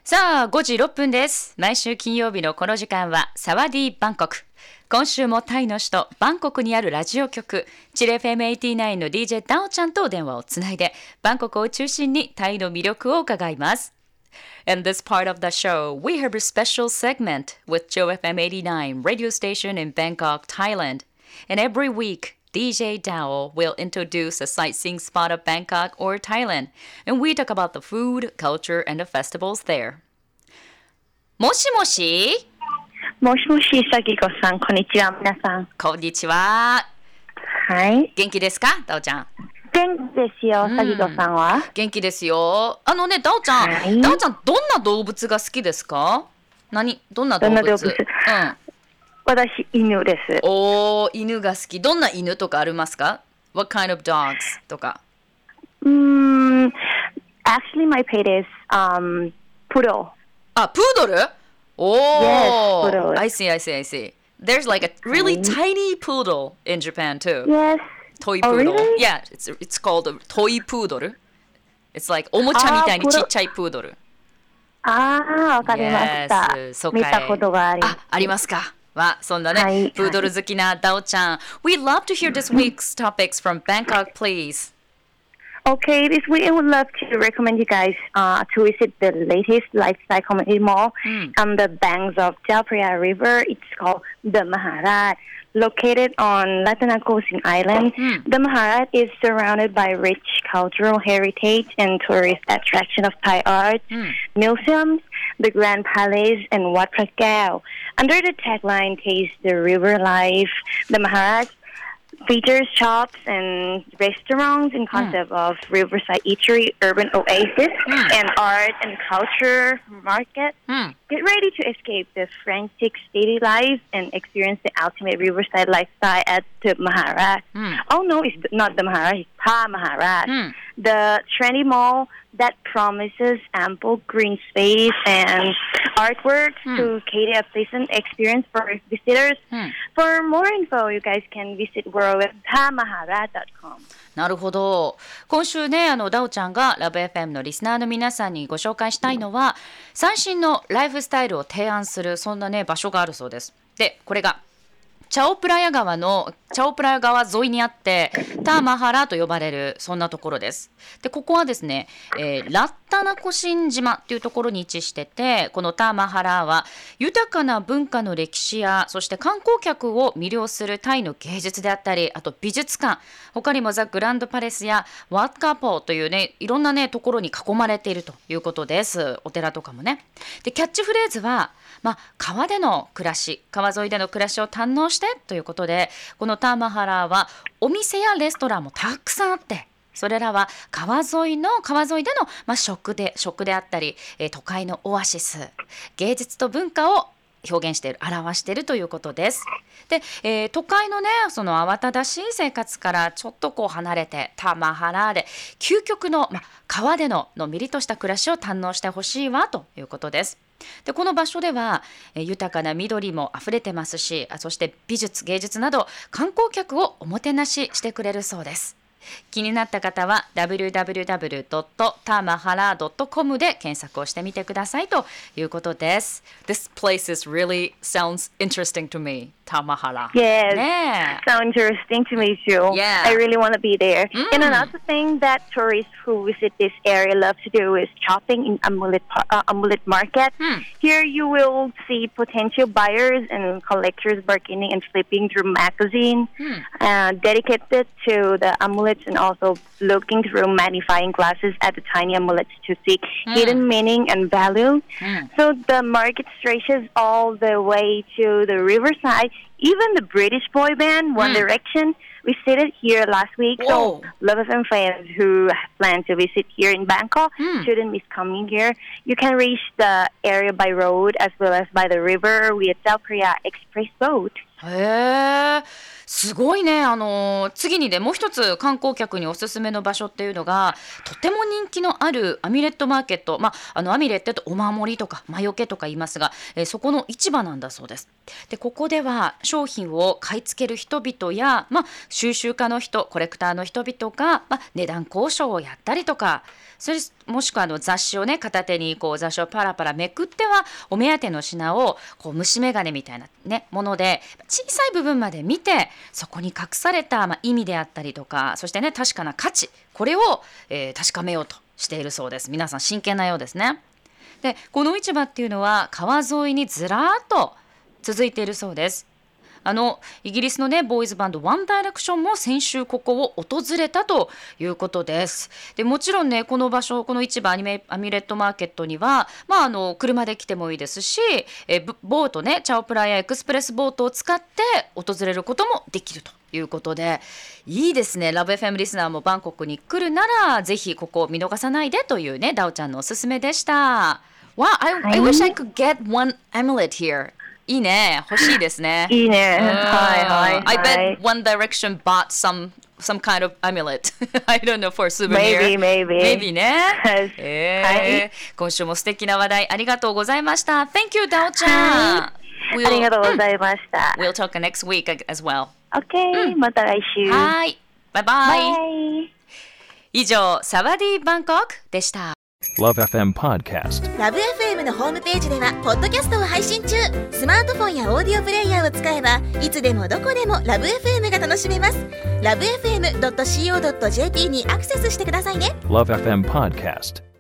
さあ、5時6分です。毎週金曜日のこの時間はサワディーバンコク。今週もタイの首都バンコクにあるラジオ局チル FM89 の DJ ダオちゃんと電話をつないでバンコクを中心にタイの魅力を伺います。In this part of the show, we have a special segment with Chill FM89 radio station in Bangkok, Thailand. And every week, DJ Dao will introduce a sightseeing spot of Bangkok or Thailand, and we talk about the food, culture, and the festivals there. もしもしもしもし、さぎこさん、こんにちは、皆さん。 こんにちは。 はい。 元気ですか、ダオちゃん。 元気ですよ、さぎこさんは。 元気ですよ。ダオちゃん、 はい、 ダオちゃん、どんな動物が好きですか？どんな動物？ 私、犬です。 犬が好き。どんな犬とかありますか？ What kind of dogs とか。 Actually, my pet is poodle. プードル ？Yes, poodle. I see. There's like a really tiny poodle in Japan too. Yes. Toy poodle. Really? Yeah, it's called a toy poodle. It's like おもちゃみたいにちっちゃいプードル。 わかりました。 Yes, 見たことがあります。 ありますか。そんなね、プードル好きなダオちゃん。We'd love to hear this week's topics from Bangkok, please. Okay, this week I would love to recommend you guys to visit the latest lifestyle community mall on the banks of Chao Phraya River. It's called the Maharaj. Located on Latanakosin Island, the Maharaj is surrounded by rich cultural heritage and tourist attraction of Thai art, museums, the Grand Palace, and Wat Phra Kaew. Under the tagline "Taste the River Life," the Maharaj features shops and restaurants in concept of riverside eatery, urban oasis, and art and culture market. Get ready to escape the frantic city life and experience the ultimate riverside lifestyle at the Maharaj. Oh no, it's not the Maharaj, it's Pa Maharaj. The trendy mall that promises ample green space and artwork to cater a pleasant experience for visitors. For more info, you guys can visit world.pamaharaj.com. なるほど。今週ね、ダオちゃんがラブ FM のリスナーの皆さんにご紹介したいのは、最新のライフスタイルを提案するそんなね場所があるそうです。で、これがチャオプラヤ川沿いにあってターマハラと呼ばれるそんなところです。で、ここはですね、ラッタナコシン島っていうところに位置してて、このターマハラは豊かな文化の歴史やそして観光客を魅了するタイの芸術であったり、あと美術館、他にもザ・グランドパレスやワッカポーというねいろんなねところに囲まれているということです。お寺とかもね。で、キャッチフレーズは川での暮らし、川沿いでの暮らしを堪能してということで、このターマハラはお店やレストランもたくさんあって、それらは川沿いでの、食であったり、都会のオアシス、芸術と文化を表現している、表しているということです。で、都会のねその慌ただしい生活からちょっと離れてターマハラで究極の、川でののんびりとした暮らしを堪能してほしいわということです。で、この場所では豊かな緑もあふれてますし、そして美術芸術など観光客をおもてなししてくれるそうです。気になった方は www.tamahara.com で検索をしてみてくださいということです。This place really sounds interesting to me. Tamahara. Yes, sounds interesting to me too. Yeah. I really want to be there. And another thing that tourists who visit this area love to do is shopping in Amulet Market. Here you will see potential buyers and collectors bargaining and flipping through magazines dedicated to the amulets, and also looking through magnifying glasses at the tiny amulets to seek hidden meaning and value. So the market stretches all the way to the riverside. Even the British boy band One Direction visited here last week. Whoa. So Love FM fans who plan to visit here in Bangkok shouldn't miss coming here. You can reach the area by road as well as by the river via Chao Phraya Express boat. へえ、すごいね。次にね、もう一つ観光客におすすめの場所っていうのが、とても人気のあるアミュレットマーケット、アミュレットってお守りとか魔除けとか言いますが、そこの市場なんだそうです。でここでは商品を買い付ける人々や、収集家の人、コレクターの人々が、値段交渉をやったりとか、それもしくは雑誌をね、片手にこう雑誌をパラパラめくってはお目当ての品をこう虫眼鏡みたいな、もので小さい部分まで見て、そこに隠された、意味であったりとか、そしてね、確かな価値、これを、確かめようとしているそうです。皆さん真剣なようですね。でこの市場っていうのは川沿いにずらーっと続いているそうです。イギリスのねボーイズバンドワンダイレクションも先週ここを訪れたということです。でもちろんね、この場所、この市場アミュレットマーケットには、車で来てもいいですし、ボートね、チャオプラやエクスプレスボートを使って訪れることもできるということで、いいですね。ラブ FM リスナーもバンコクに来るならぜひここを見逃さないでというね、ダオちゃんのおすすめでした。Wow, I wish I could get one amulet here. いいね、欲しいですね。 いいね。はい。 I bet One Direction bought some kind of amulet. I don't know, for souvenir. Maybe ね。今週も素敵な話題ありがとうございました。Thank you, ダオちゃん。 ありがとうございました。 We'll talk next week as well. Okay、また来週。 はい。バイバイ。以上、サワディーバンコクでした。 Love FM Podcast。 ラブ FM のホームページではポッドキャストを配信中。スマートフォンやオーディオプレイヤーを使えばいつでもどこでもラブ FM が楽しめます。ラブ FM.co.jp にアクセスしてくださいね。 Love FM Podcast。